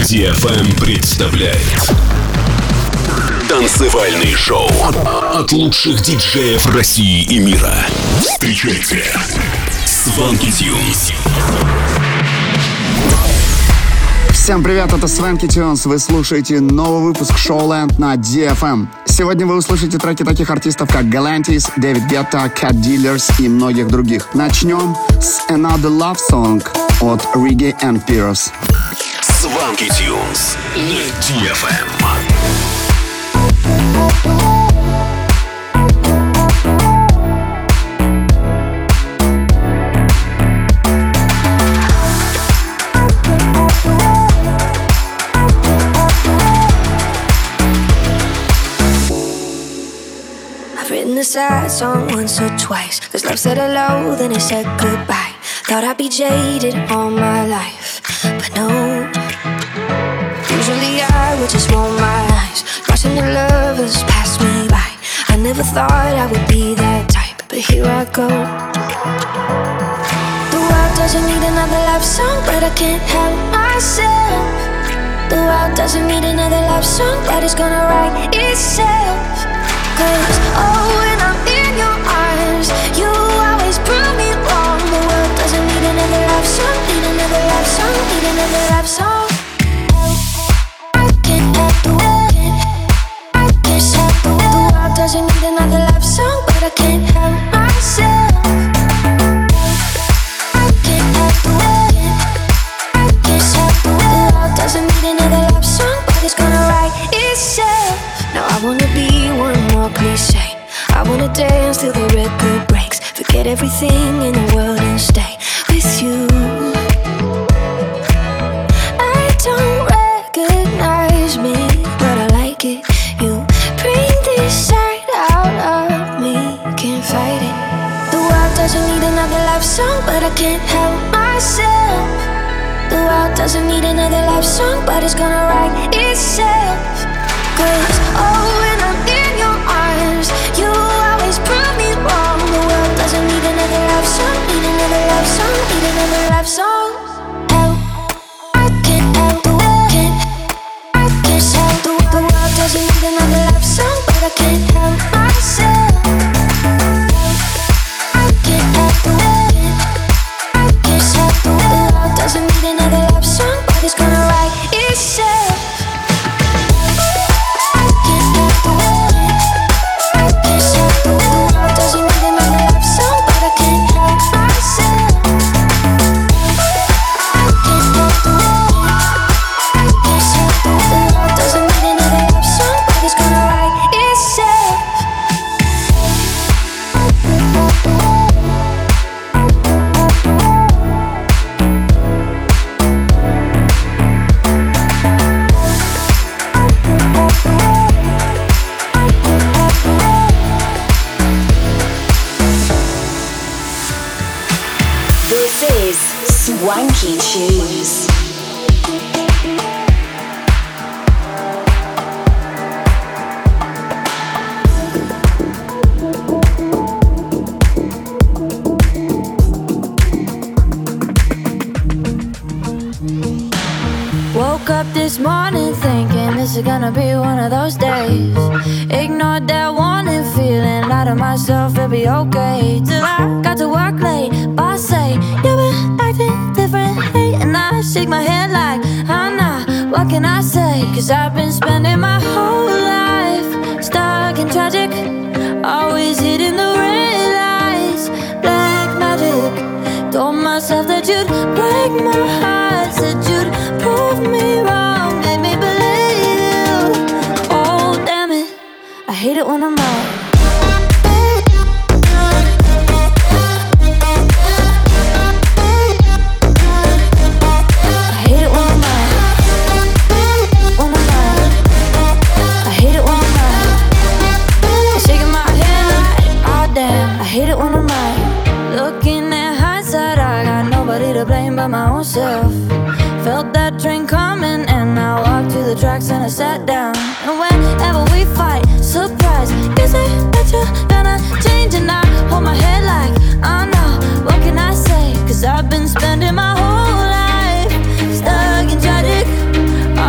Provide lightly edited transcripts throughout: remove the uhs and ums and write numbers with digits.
DFM представляет танцевальный шоу от лучших диджеев России и мира. Встречайте Swanky Tunes. Всем привет, это Swanky Tunes. Вы слушаете новый выпуск Showland на DFM. Сегодня вы услышите треки таких артистов, как Galantis, Дэвид Гетта, Cat Dealers и многих других. Начнем с Another Love Song от Reggae and Pierce. Swanky Tunes на DFM. A sad song once or twice, 'cause love said hello, then it said goodbye. Thought I'd be jaded all my life, but no. Usually I would just roll my eyes, watching the lovers pass me by. I never thought I would be that type, but here I go. The world doesn't need another love song, but I can't help myself. The world doesn't need another love song, but it's gonna write itself. 'Cause, oh, when I'm in your arms, you always prove me wrong. The world doesn't need another love song, need another love song, need another love song. I can't help the world, I can't help the world. The world doesn't need another love song, but I can't help myself. I can't help the world, I can't help the world. The world doesn't need another love song, but it's gonna write itself. Now I wanna be one more cliche. I wanna dance till the record breaks. Forget everything in the world and stay with you. I don't recognize me, but I like it. You bring this side out of me, can't fight it. The world doesn't need another love song, but I can't help myself. The world doesn't need another love song, but it's gonna write itself. 'Cause, oh, when I'm in your arms, you always prove me wrong. The world doesn't need another love song, need another love song, need another love song. Help, I can't help the world, I can't help the world. The world doesn't need another love song, but I can't help myself. I can't help the world, I can't help the world. The world doesn't need another love song, but it's gonna write itself. Swanky Tunes. Woke up this morning thinking this is gonna be one of those days. Ignored that warning, feeling out of myself, it'll be okay. Till I got to work late, boss say you've been acting differently, and I shake my head like, I'm not, what can I say? 'Cause I've been spending my whole life stuck in tragic, always hitting the red lights, black magic. Told myself that you'd break my heart, said you'd prove me wrong, made me believe you. Oh damn it, I hate it when I'm wrong. By my own self, felt that train coming, and I walked to the tracks and I sat down. And whenever we fight, surprise, you say that you're gonna change, and I hold my head like, oh no, what can I say? 'Cause I've been spending my whole life stuck in tragic,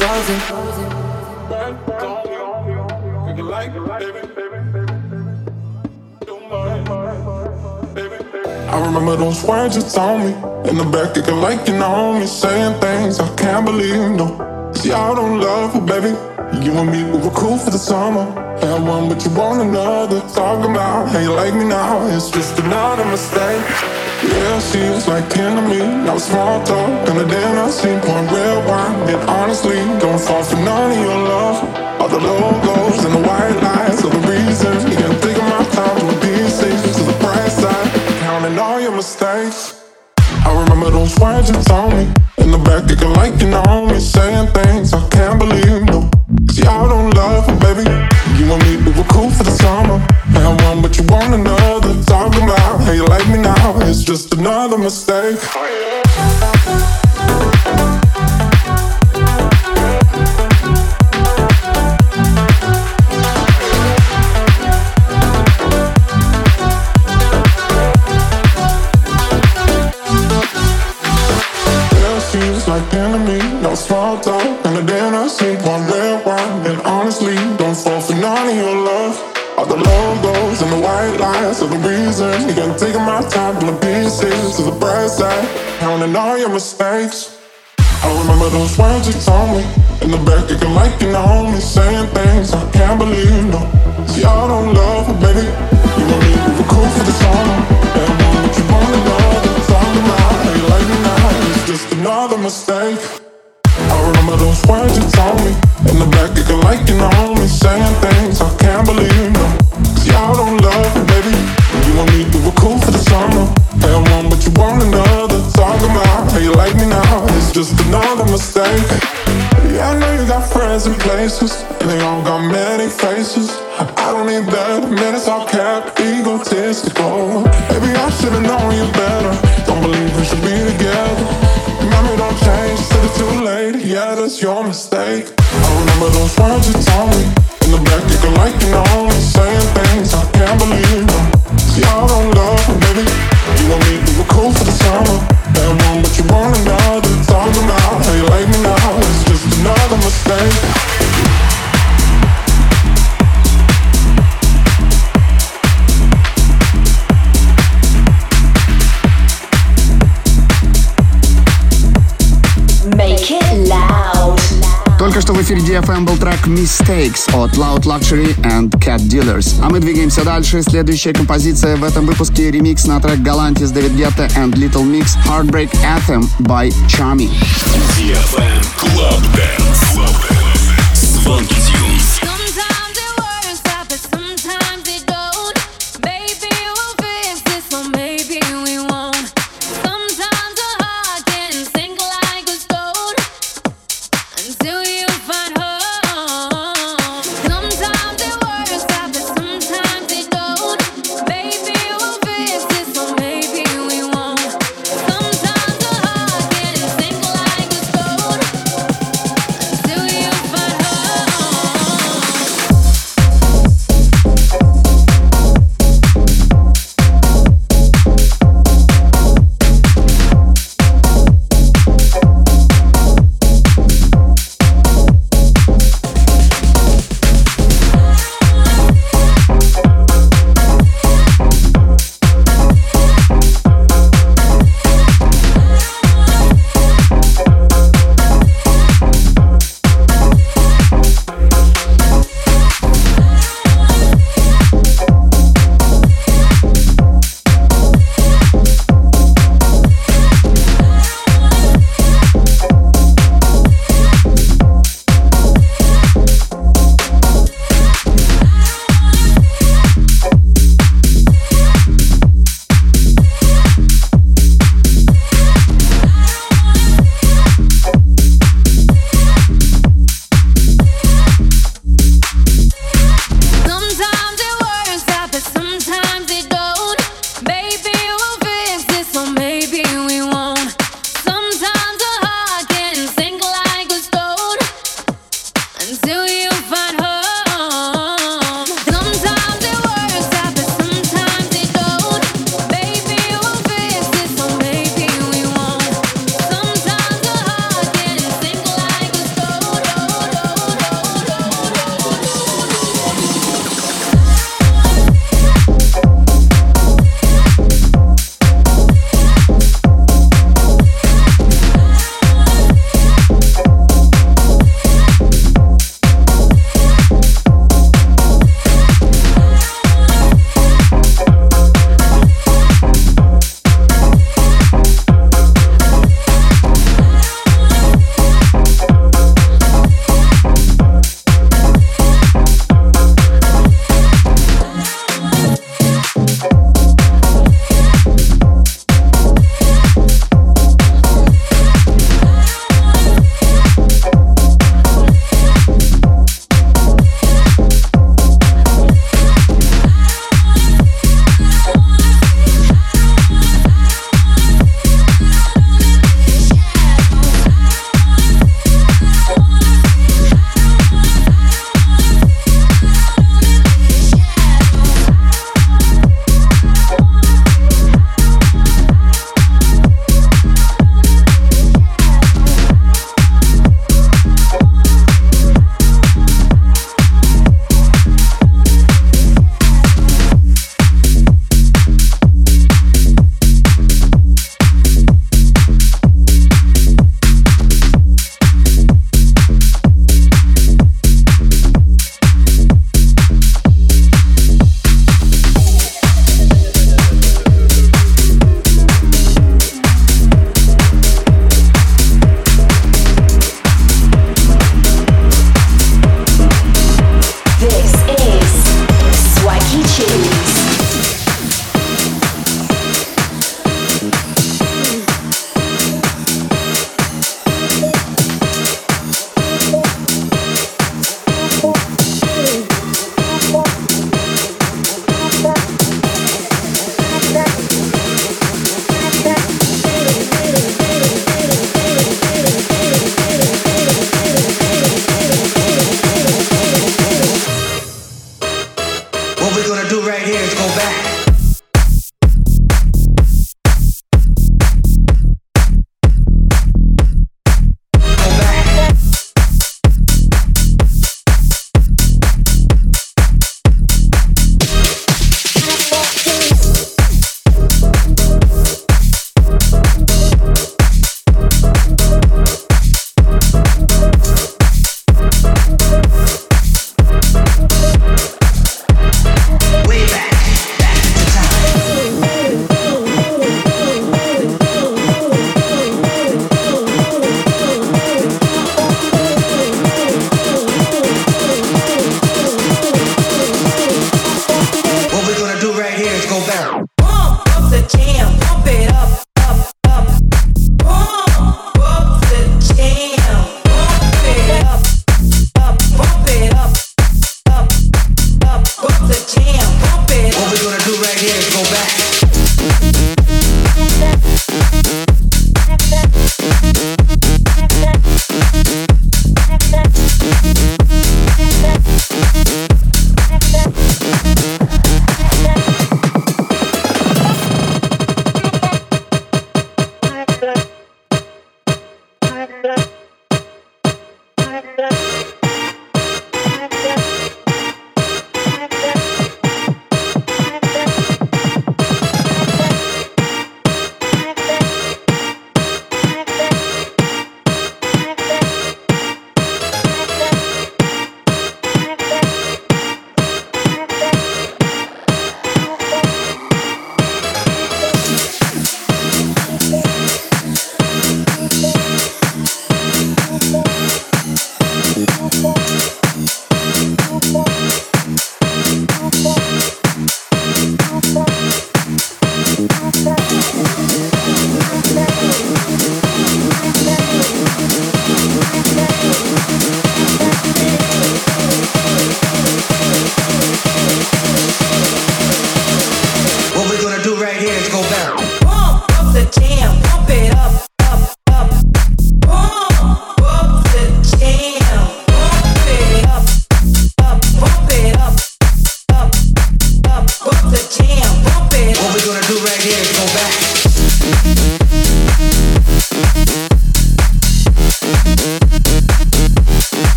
frozen. I remember those words you told me in the back, acting like you know me, saying things I can't believe. No, see, I don't love her, baby. You and me, we were cool for the summer. Had one, but you want another. Talking about how you like me now, it's just another mistake. Yeah, she was like 10 to me. Now it's small talk, and then I seen pouring red wine. And honestly, don't fall for none of your love. All the logos and the white lies are the reasons. You can't think of my time from the pieces to the bright side, counting all your mistakes. I remember those words you told me in the back, acting like you know me, saying things I can't believe. No, see, I don't love her, baby. You and me, we were cool for the summer. Had one, but you want another. Talking about how you like me now, it's just another mistake. Like enemy, no small talk, and then I seen one red wine. And honestly, don't fall for none of your love. All the logos and the white lies are the reason. You can't take my time from the pieces to the bright side, counting all your mistakes. I remember those words you told me in the back, acting like you know me, saying things I can't believe. No, see, I don't love her, baby. You and me, we were cool for the summer. And one, but you want another. Talking about how you like me now, it's just another mistake. I remember those words you told me in the back, acting like you know me, saying things I can't believe. No, see, I don't love her, baby. You and me, we were cool for the summer. Had one, but you want another. Talking about how you like me now, it's just another mistake. Yeah, I know you got friends in places, and they all got many faces. I don't need that, man, it's all cap, egotistical. Maybe I should've known you better. Don't believe we should be together. Remember, don't change till it's too late. Yeah, that's your mistake. I remember those words you told me in the back, acting like you know me, saying things I can't believe. See, I don't love her, baby. You and me, we were cool for the summer. Had one, but you want another. Talking about how you like me now, it's just another mistake. Только что в эфире DFM был трек Mistakes от Loud Luxury and Cat Dealers. А мы двигаемся дальше. Следующая композиция в этом выпуске — ремикс на трек Galantis, David Guetta and Little Mix Heartbreak Anthem by Chami. DFM Club Dance. Звонки Тюнс.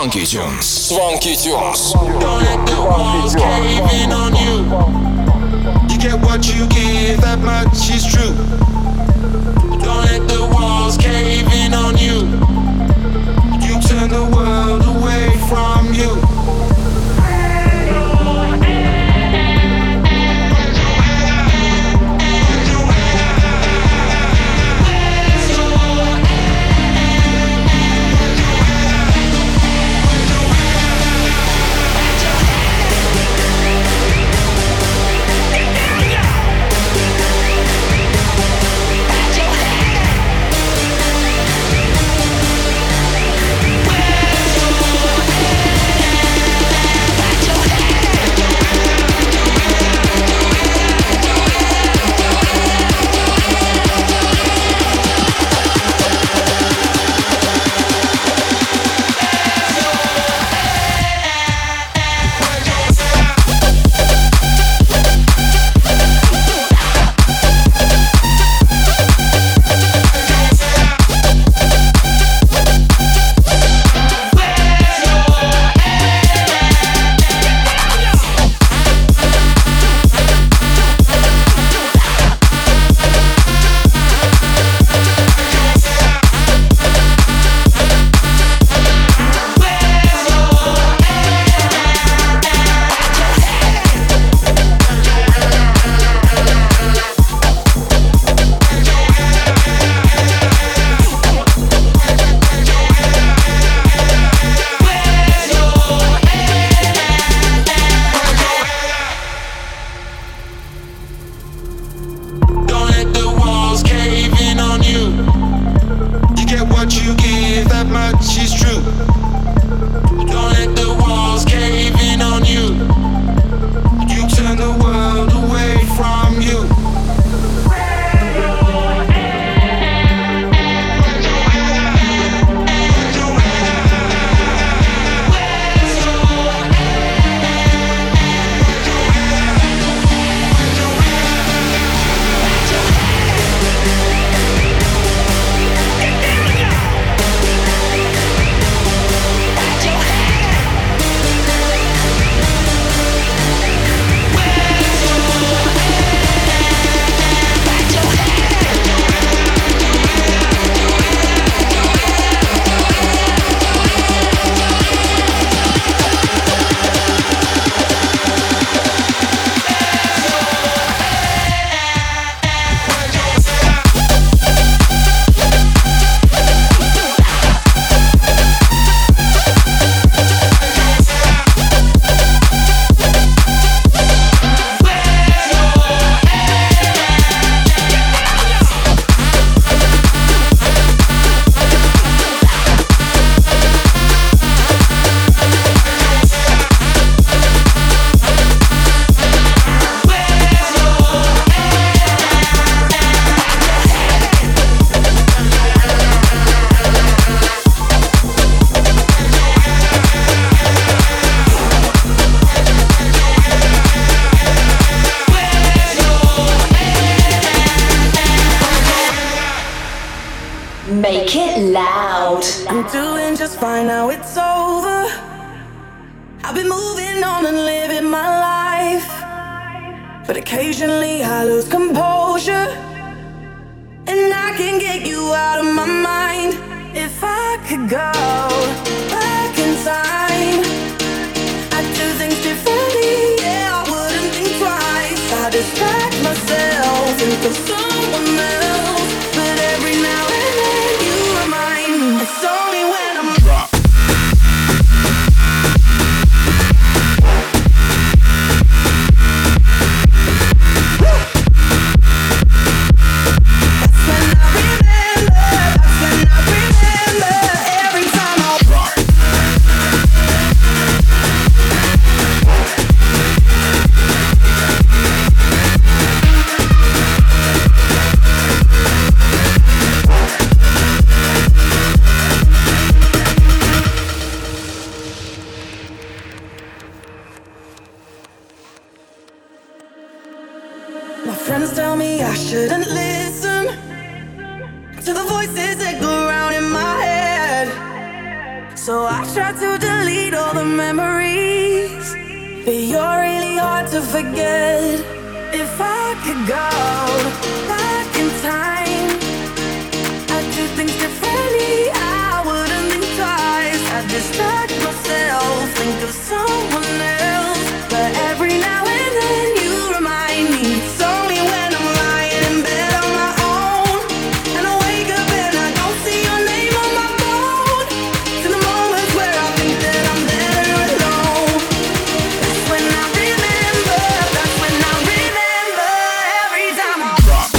Swanky Tunes. Swanky Tunes. Don't let the walls cave in on you. You get what you give, that much is true. Don't let the walls cave in on you. You turn the world away from you. Make it loud. I'm doing just fine now, it's over. I've been moving on and living my life, but occasionally I lose composure, and I can get you out of my mind. If I could go back in time, I'd do things differently. Yeah, I wouldn't think twice. I distract myself, think of someone else, but every now and then you remind me. It's only when I'm drunk. Friends tell me I shouldn't listen to the voices that go around in my head, so I try to delete delete all the memories, but you're really hard to forget. If I could go back in time, I'd do things differently. I wouldn't think twice. I'd distract myself, think of someone else. But every now and then you remind me it's only when I'm lying in bed on my own, and I wake up and I don't see your name on my phone. To the moments where I think that I'm better alone. That's when I remember. That's when I remember. Every time I drop.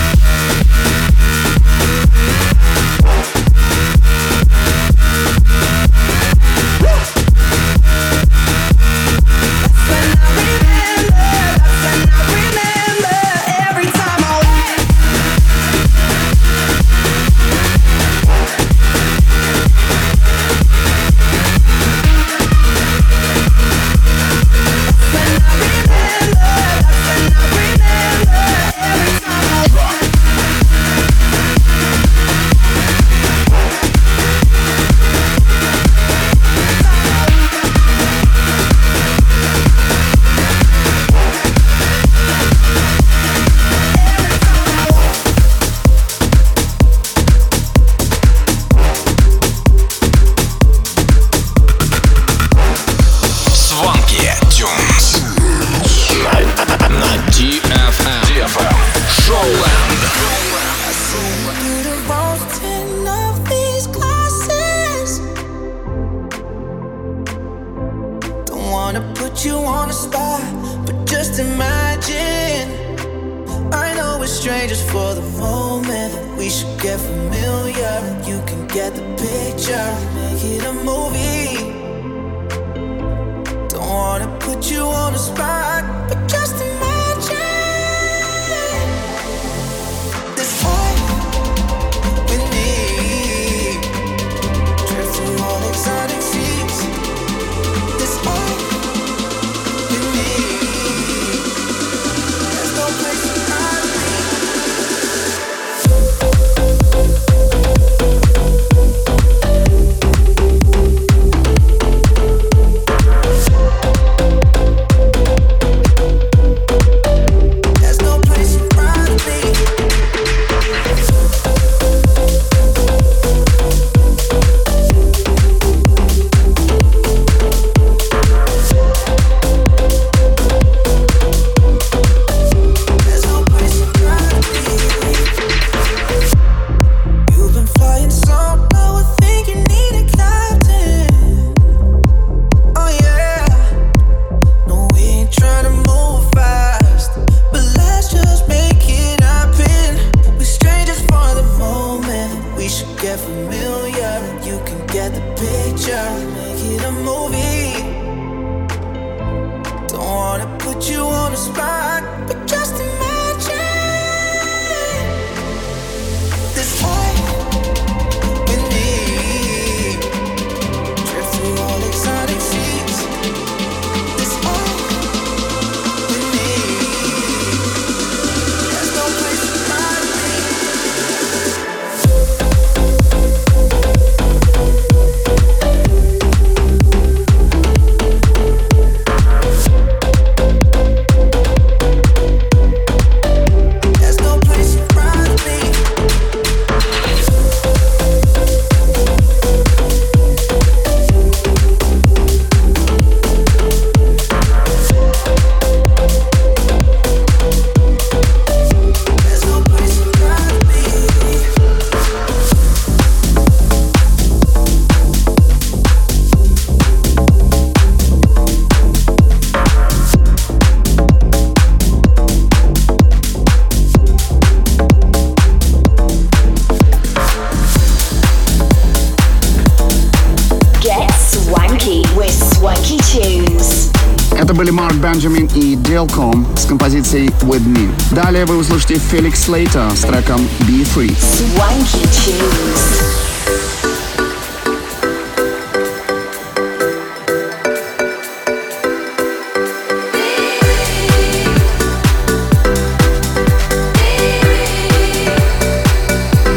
Это были Марк Бенджамин и Делком с композицией With Me. Далее вы услышите Феликс Слейтер с треком Be Free. Swanky Tunes.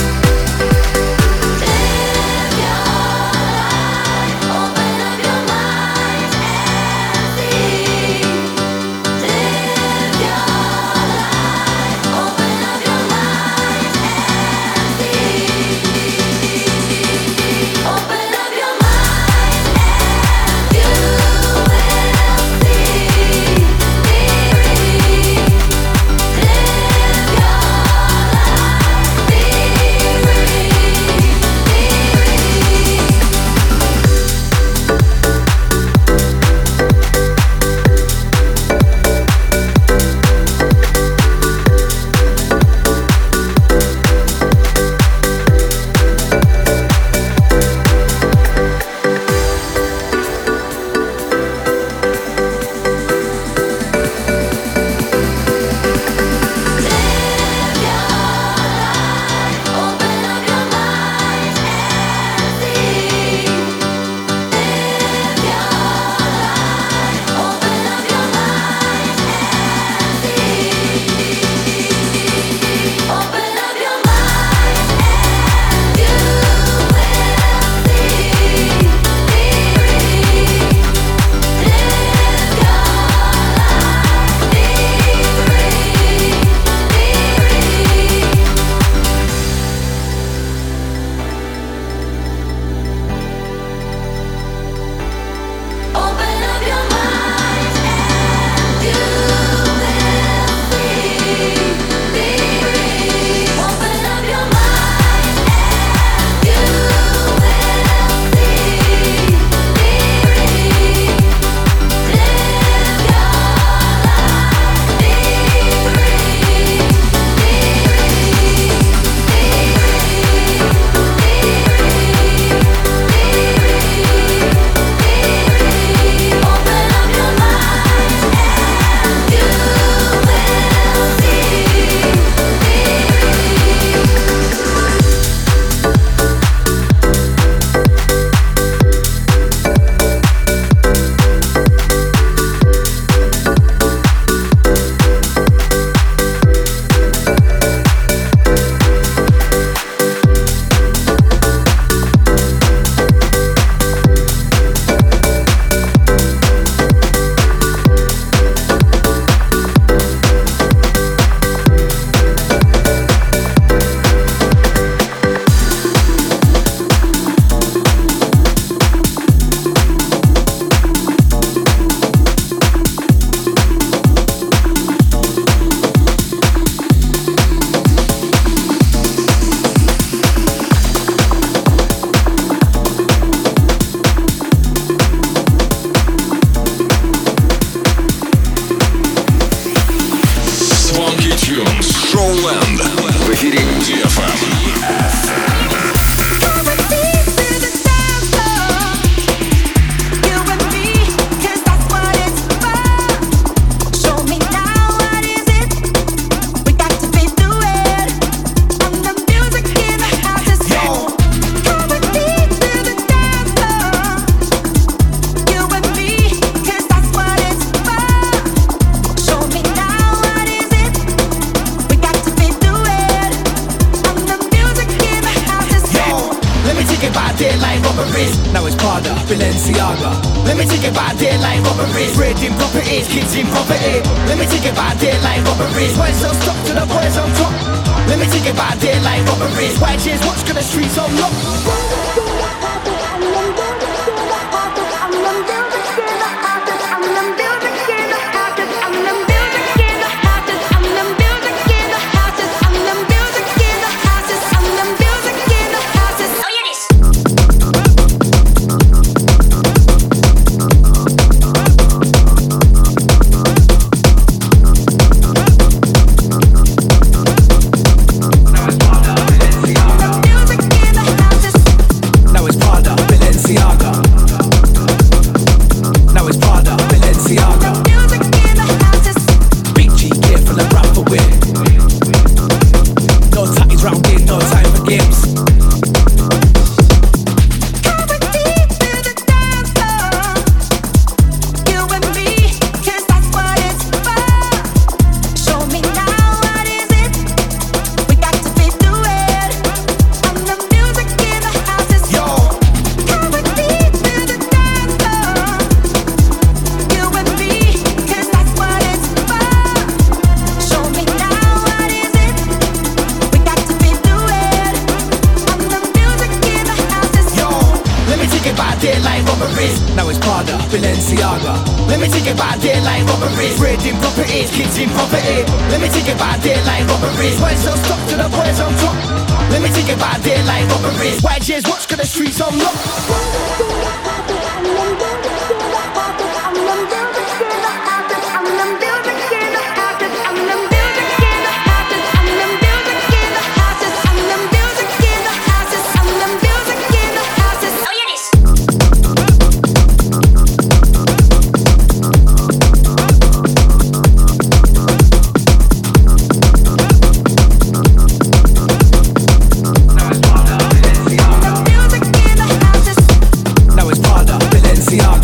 Open up your mind. Tunes. Showland. В эфире DFM. Now it's Prada, Balenciaga. Let me take it by daylight robberies. Raiding properties, kids in poverty. Let me take it by daylight robberies. Boys don't stop to the boys on top. Let me take it by daylight robberies. White chairs, watch, got the streets on lock. Now it's Prada, Balenciaga. Let me take it by daylight robberies. Raiding properties, kids in poverty. Let me take it by daylight robberies. Boys don't stop to the boys on top. Let me take it by daylight robberies. White chairs, watch, got the streets on lock. Now it's Prada, Balenciaga.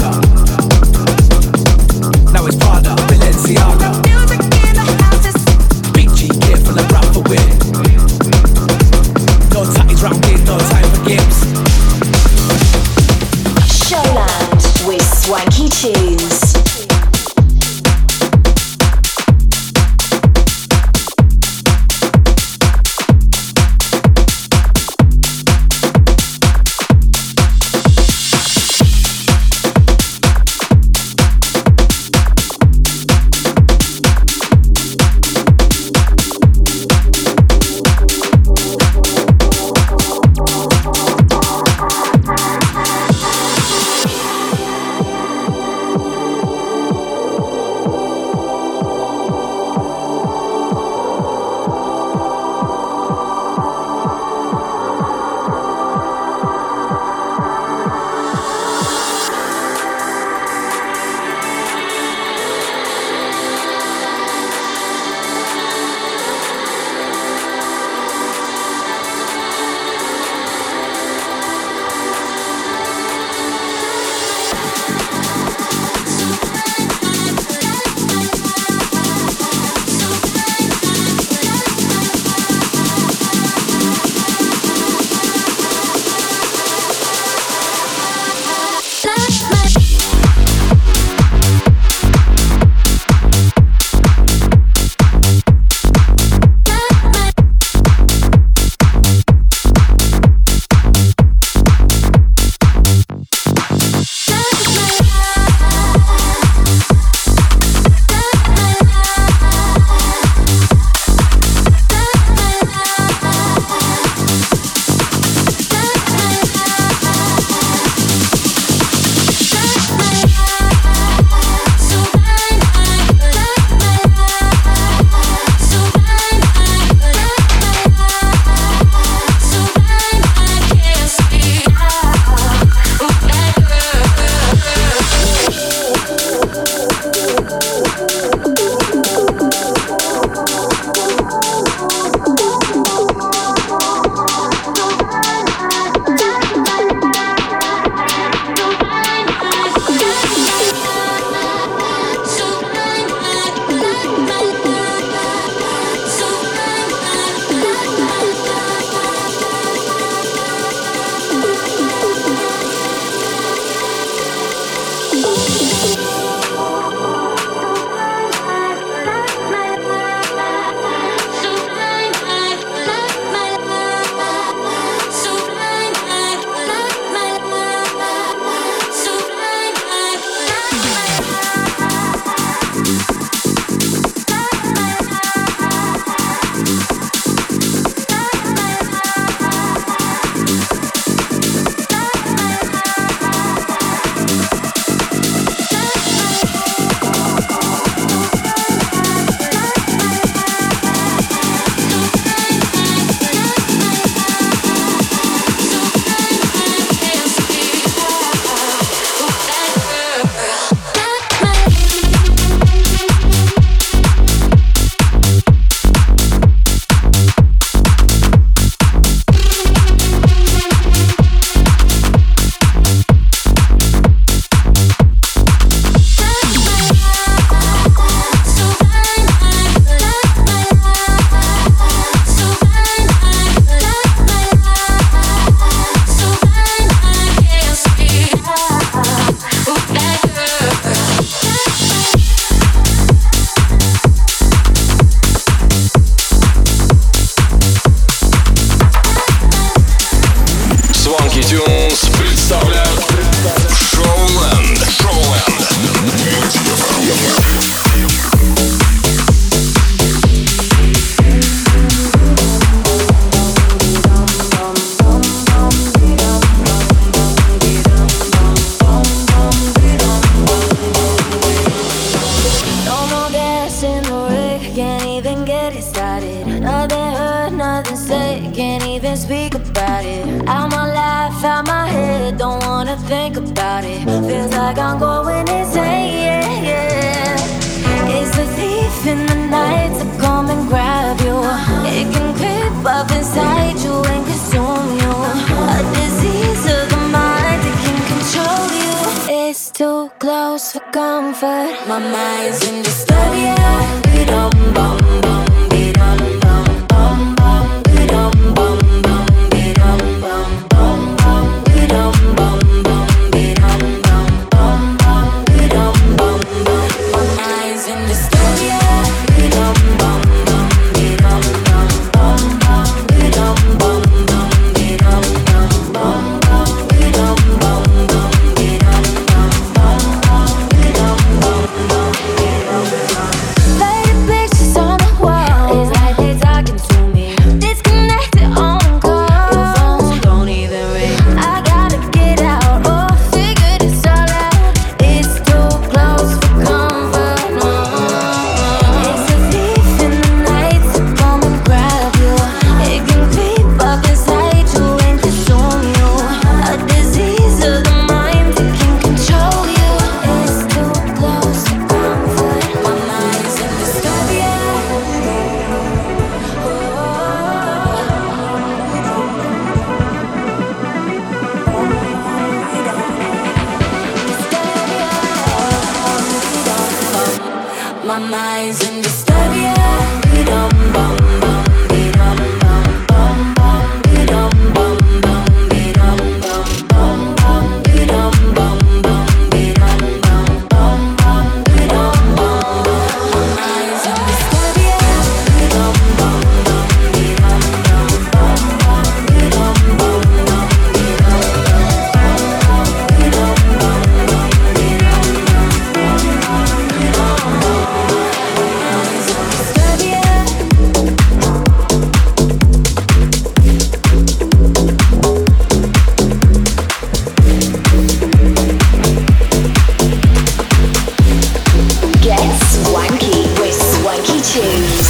nothing to say, can't even speak about it. Out my life, out my head, don't wanna think about it. Feels like I'm going insane, yeah, yeah. It's a thief in the night to come and grab you. It can creep up inside you and consume you. A disease of the mind that can control you. It's too close for comfort. My mind's in disturbia. Be-dum bum bum, be-dum bum bum bum, be-dum bum bum, be-dum bum bum bum, be-dum bum bum, be-dum bum bum bum, be-dum bum bum. My mind's in disturbia. Be-dum bum bum, be-dum bum bum bum, be-dum bum bum, be-dum bum bum bum, be-dum bum bum, be-dum bum bum bum, be-dum bum bum, be-dum bum. Faded pictures on the wall, it's like they're talking to me. Disconnected on call, your phone don't even ring. I gotta get out, oh, figure this all out. It's too close for comfort. It's a thief in the night to come and grab you. It can creep up inside you and consume you. A disease of the mind that can control you. It's too close for comfort. My mind's in disturbia. My mind's in disturbia. Be-dum bum bum, be-dum bum bum bum, be-dum bum bum, be-dum bum bum bum, be-dum bum bum, be-dum bum bum bum, be-dum bum bum. My mind's in disturbia. Be-dum bum bum, be-dum bum bum bum, be-dum bum bum, be-dum bum bum, be-dum bum bum, be-dum bum bum, be-dum bum. Get swanky with Swanky Tunes.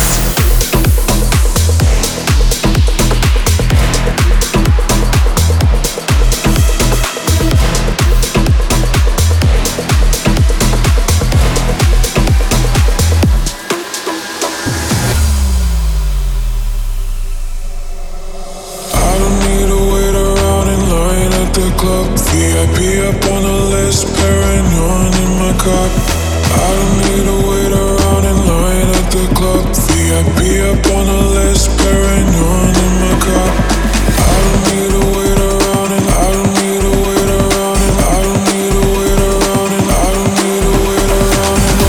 I don't need to wait around in line at the club. VIP up on the list, Perignon in my cup. I don't need to wait around in line at the club. VIP up on the list, Perignon in my cup. I don't need to wait around and I don't need to wait around and I don't need to wait around and I don't need to wait around and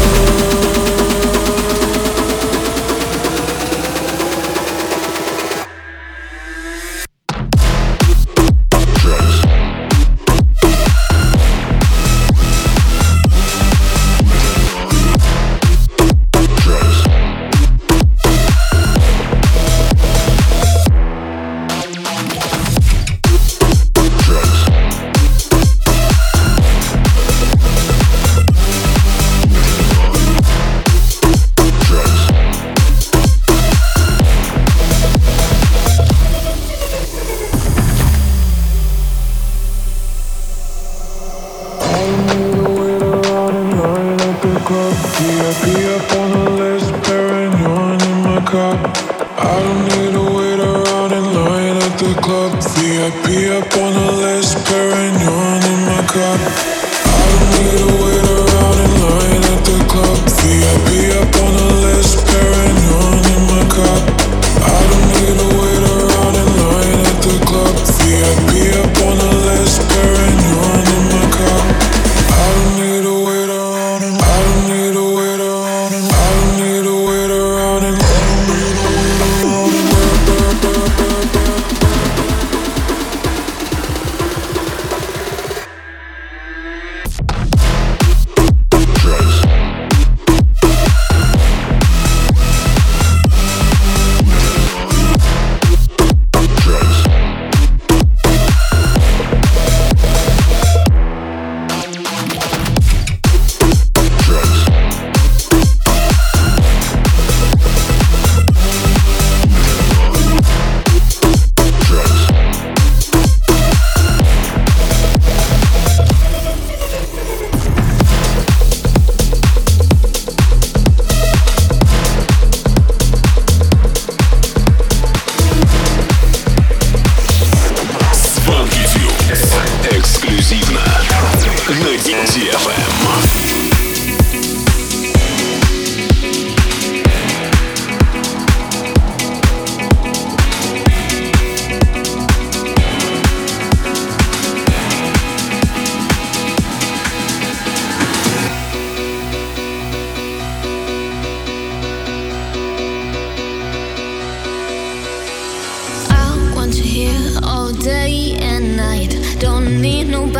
VIP up on the list, Perignon in my cup. I don't need to wait around in line at the club. VIP up on the list, Perignon in my cup. I don't need to wait around in line at the club. VIP up on the list, Perignon in my cup. I don't need to wait around in line at the club. VIP up on the list, Perignon in my cup. I don't need to wait around and I don't need to wait around and I don't need to wait around and I don't need to wait around and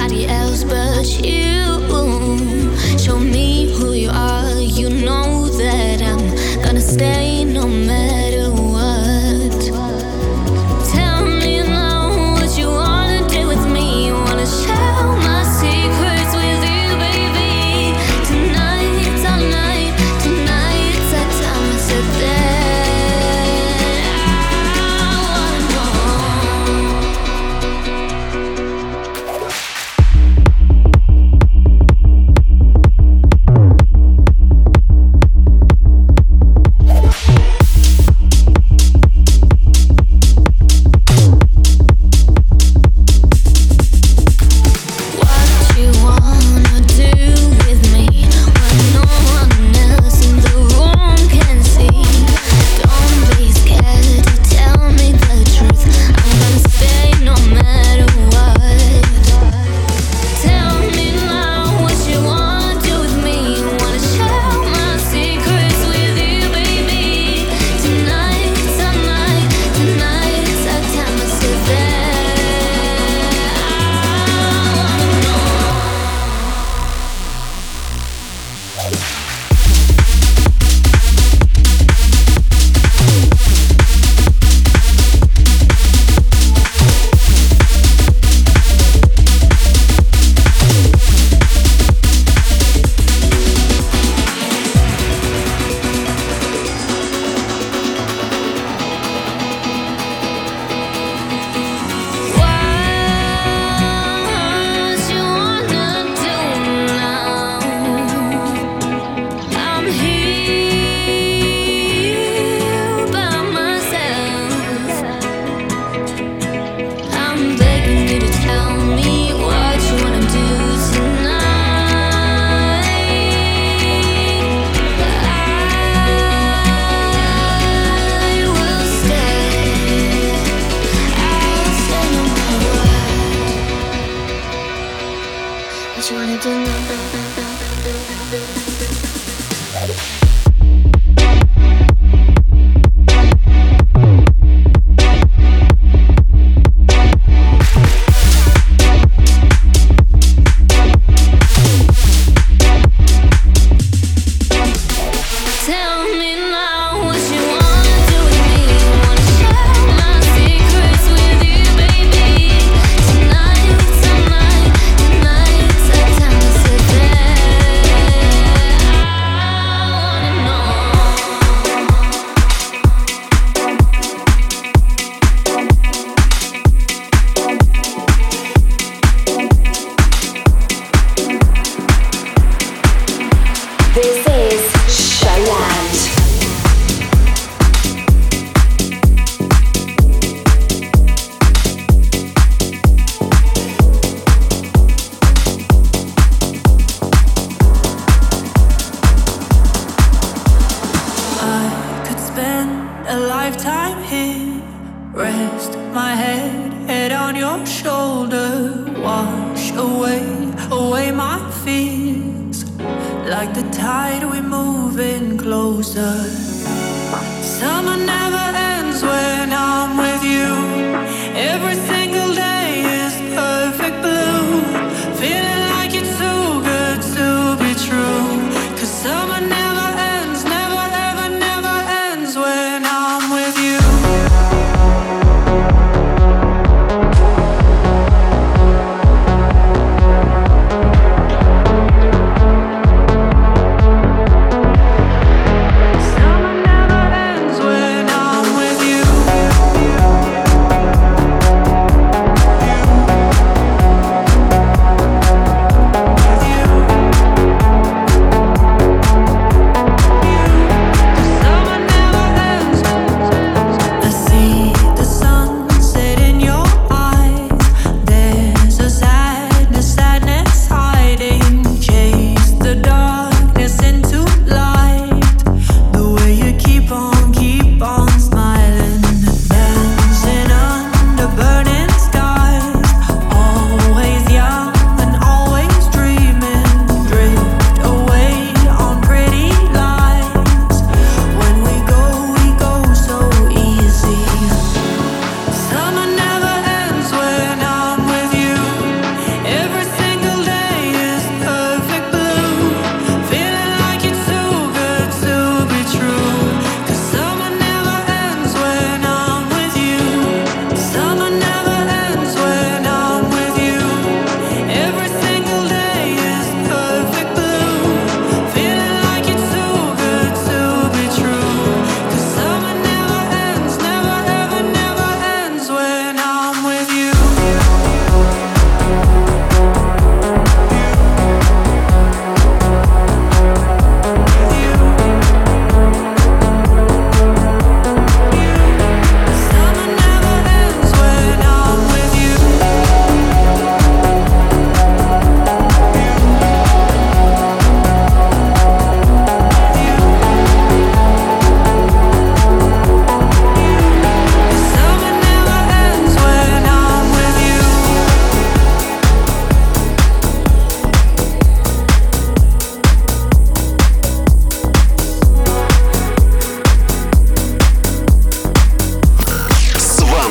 nobody else but you. Show me who you are. You know that I'm gonna stay no matter what. Tell me now what you wanna do with me. Wanna share my secrets with you, baby. Tonight's our night. Tonight's our time. I said that. With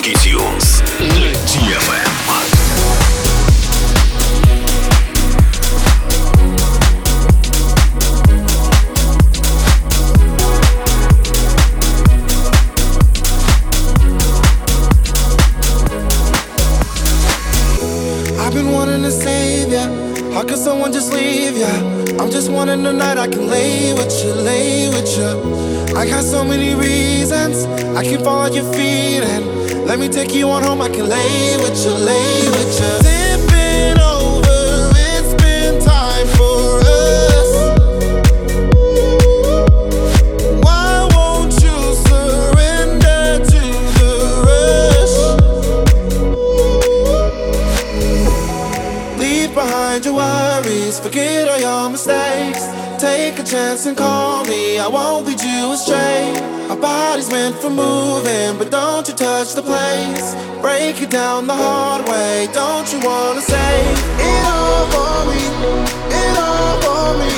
Swanky Tunes на DFM. I've been wanting to save ya. How could someone just leave ya? I'm just wanting the night I can lay with you, lay with you. I got so many reasons I can fall at your feet and let me take you on home. I can lay with you, lay with you. Tipping over, it's been time for us. Why won't you surrender to the rush? Leave behind your worries, forget all your mistakes. Take a chance and call me, I won't lead you astray. Our body's meant for moving, but don't you touch the place. Break it down the hard way, don't you wanna save it all for me, it all for me.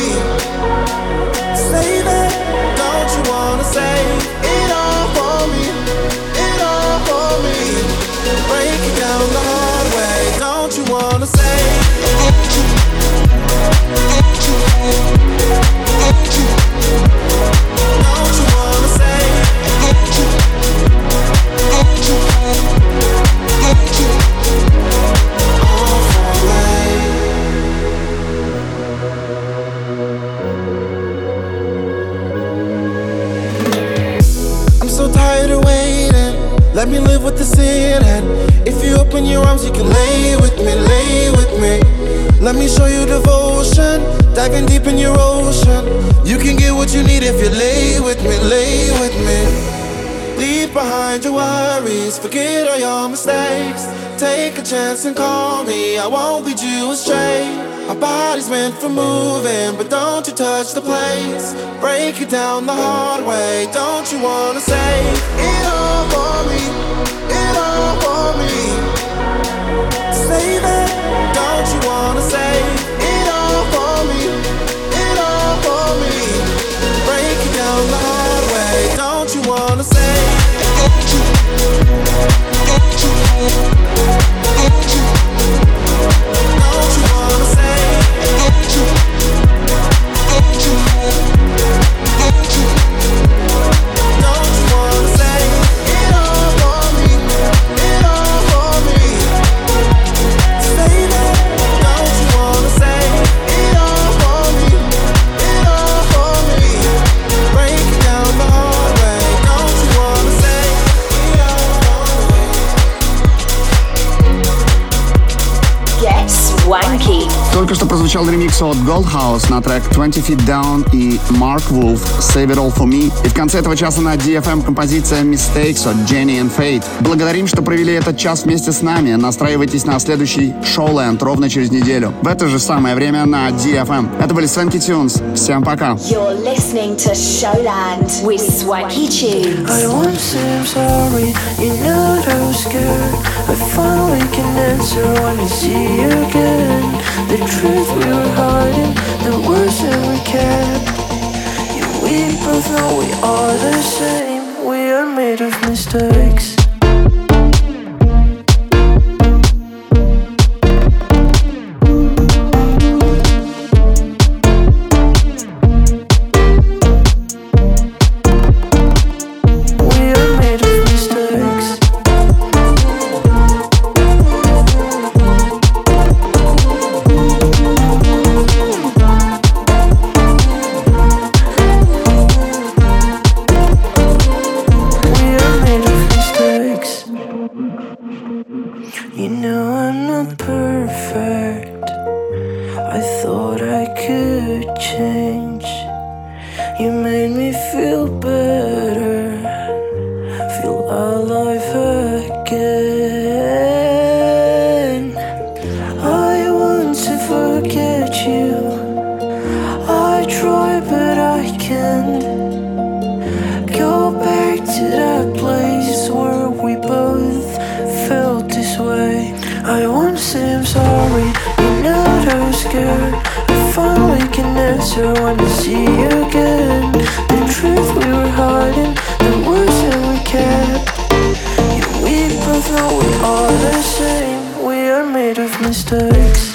Save it, don't you wanna save it all for me, it all for me. Break it down the hard way, don't you wanna save it? Don't you wanna say all for me? I'm so tired of waiting. Let me live with the ceiling. If you open your arms, you can lay with me, lay with me. Let me show you devotion, diving deep in your ocean. You can get what you need if you lay with me, lay with me. Leave behind your worries, forget all your mistakes. Take a chance and call me, I won't lead you astray. Our body's meant for moving, but don't you touch the place. Break it down the hard way, don't you wanna save it all for me, it all for me. Save it, don't you wanna save it all for me, it all for me. Break it down the hard way, don't you wanna save it? Don't you wanna save it? Don't you wanna save it all for me, it all for me. Save it, don't you wanna save it all for me, it all for me. Break it down the hard way, don't you wanna save it all for me. Get Swanky. Только что прозвучал ремикс от Goldhouse на трек 20 Feet Down и Mark Wolf Save It All For Me. И в конце этого часа на DFM композиция Mistakes от Jenny and Fate. Благодарим, что провели этот час вместе с нами. Настраивайтесь на следующий Showland ровно через неделю. В это же самое время на DFM. Это были Swanky Tunes. Всем пока. You're listening to Showland with Swanky Tunes. I want to say I'm sorry, you know that I was scared. I finally can answer when I see you again. The truth we were hiding, the words that we kept. Yeah, we both know we are the same. We are made of mistakes. mistakes.